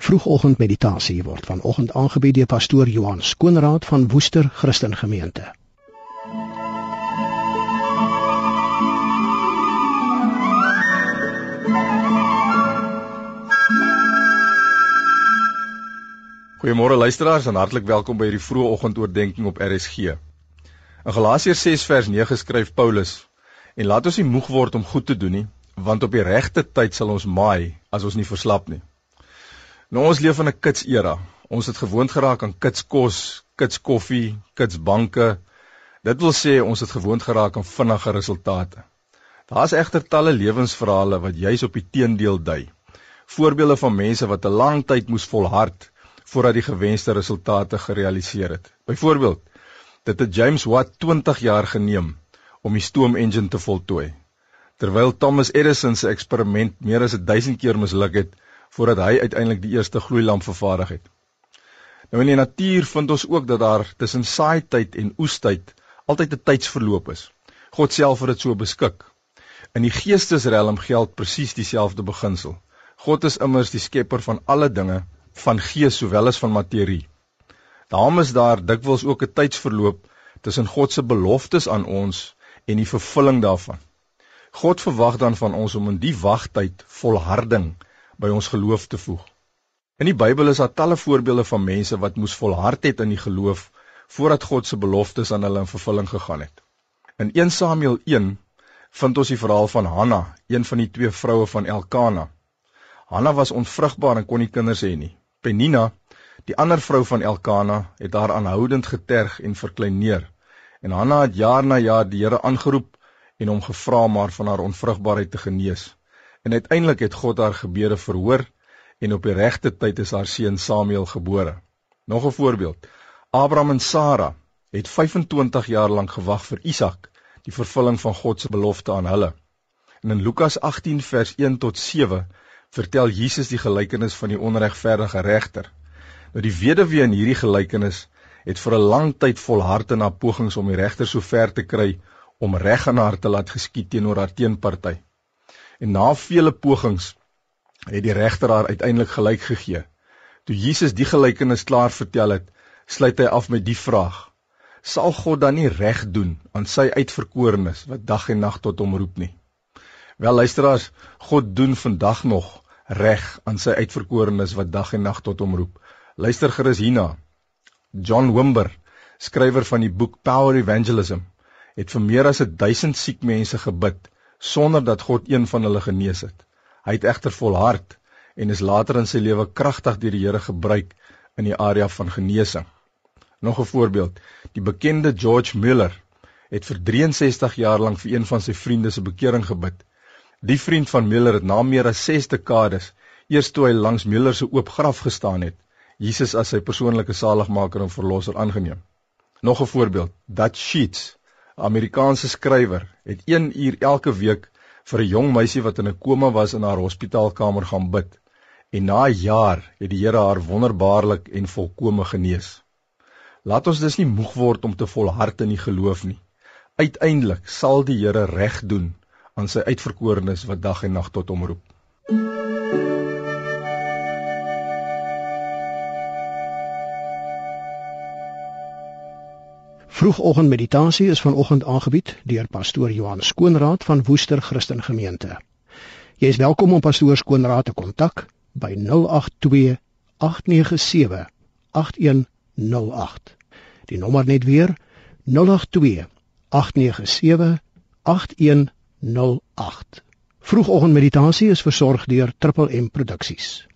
Vroegoggendmeditasie word vanoggend aangebied deur pastoor Johan Skoonraad van Woester Christen Gemeente. Goeiemôre luisteraars en hartlik welkom by hierdie vroegoggendoordenkings op RSG. In Galasiërs 6 vers 9 skryf Paulus: En laat ons nie moeg word om goed te doen nie, want op die regte tyd sal ons maai as ons nie verslap nie. Nou ons leef in 'n kitsera. Ons het gewoond geraak aan kitskos, kitskoffie, kitsbanke. Dit wil sê ons het gewoond geraak aan vinnige resultate. Daar is egter talle lewensverhale wat juis op die teendeel dui. Voorbeelde van mense wat 'n lang tyd moes volhard voordat die gewenste resultate gerealiseer het. Byvoorbeeld, dit het James Watt 20 jaar geneem om die stoomengine te voltooi, terwyl Thomas Edison se eksperiment meer as 1000 keer misluk het voordat hy uiteindelik die eerste gloeilamp vervaardig het. Nou in die natuur vind ons ook dat daar tussen saaityd en oestyd altyd 'n tydsverloop is. God self het dit so beskik. In die geestesrelm geld presies dieselfde beginsel. God is immers die skepper van alle dinge, van gees sowel as van materie. Daarom is daar dikwels ook 'n tydsverloop tussen God se beloftes aan ons en die vervulling daarvan. God verwag dan van ons om in die wagtyd volharding by ons geloof te voeg. In die Bybel is daar talle voorbeelde van mense wat moes volhard het in die geloof voordat God se beloftes aan hulle in vervulling gegaan het. In 1 Samuel 1 vind ons die verhaal van Hanna, een van die 2 vroue van Elkana. Hanna was onvrugbaar en kon nie kinders hê nie. Penina, die ander vrou van Elkana, het haar aanhoudend geterg en verkleineer. En Hanna het jaar na jaar die Here aangeroep en hom gevra om haar van haar onvrugbaarheid te genees. En uiteindelik het God haar gebede verhoor en op die regte tyd is haar seun Samuel gebore. Nog 'n voorbeeld. Abraham en Sara het 25 jaar lank gewag vir Isak, die vervulling van God se belofte aan hulle. En in Lukas 18 vers 1 tot 7 vertel Jesus die gelykenis van die onregverdige regter. Nou die weduwee in hierdie gelykenis het vir 'n lang tyd volhard in haar pogings om die regter so ver te kry om reg aan haar te laat geskied teenoor haar teenparty. En na vele pogings het die regter haar uiteindelik gelyk gegee. Toe Jesus die gelykenis klaar vertel het, sluit hy af met die vraag: Sal God dan nie reg doen aan sy uitverkorenes wat dag en nag tot hom roep nie? Wel luisteraars, God doen vandag nog reg aan sy uitverkorenes wat dag en nag tot hom roep. Luister gerus hierna. John Wimber, skrywer van die boek Power Evangelism, het vir meer as 1000 siek mense gebid, sonder dat God een van hulle genees het. Hy het egter volhard en is later in sy lewe kragtig deur die Here gebruik in die area van genesing. Nog 'n voorbeeld, die bekende George Muller het vir 63 jaar lank vir een van sy vriende se bekering gebid. Die vriend van Muller het na meer as 6 dekades, eers toe hy langs Muller se oop graf gestaan het, Jesus as sy persoonlike saligmaker en verlosser aangeneem. Nog 'n voorbeeld, Dutch Sheets, 'n Amerikaanse skrywer, het 1 uur elke week vir 'n jong meisie wat in 'n koma was in haar hospitaalkamer gaan bid. En na 'n jaar het die Here haar wonderbaarlik en volkome genees. Laat ons dus nie moeg word om te volhard in die geloof nie. Uiteindelik sal die Here reg doen aan sy uitverkorenes wat dag en nag tot hom roep. Vroegoggendmeditasie is vanoggend aangebied deur pastoor Johan Skoonraad van Woester Christen Gemeente. Jy is welkom om pastoor Skoonraad te kontak by 082 897 8108. Die nommer net weer 082 897 8108. Vroegoggendmeditasie is versorg deur Triple M Produksies.